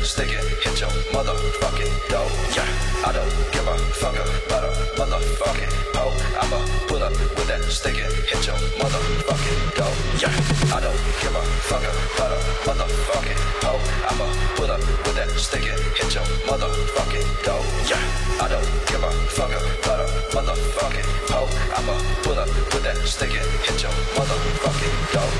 stick it, hit your motherfucking door. Yeah, I don't give a fuck about a motherfucking hoe. I'ma pull up with that stick it, hit your motherfucking door. Yeah, I don't give a fuck about a motherfucking hoe. I'ma pull up with that stick it, hit your motherfucking door. Yeah, I don't give a fuck about a motherfucking hoe. I'ma pull up with that stick it, hit your motherfucking door.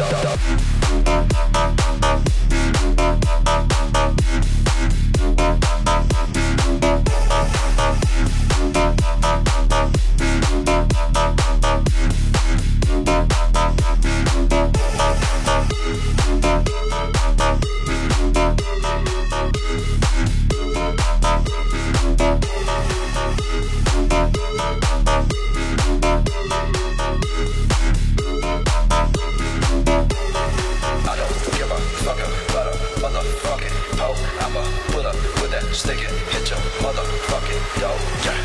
Stick it, hit your motherfucking door. Yeah.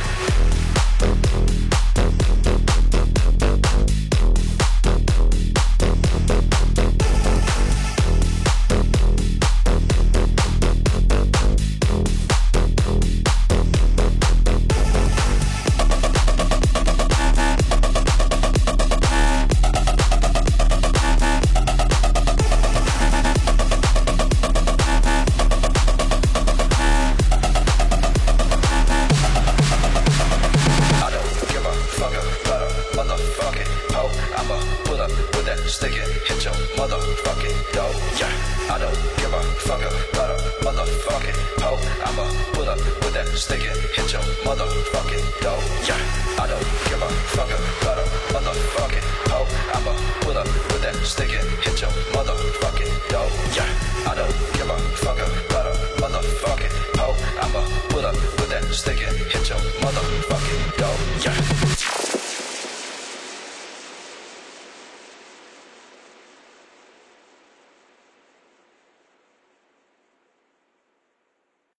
Stick it, hit your motherfucking door. Yeah, I don't give a fuck about a motherfucking hoe. I'ma pull up with that stick it, hit your motherfucking door. Yeah, I don't give a fuck about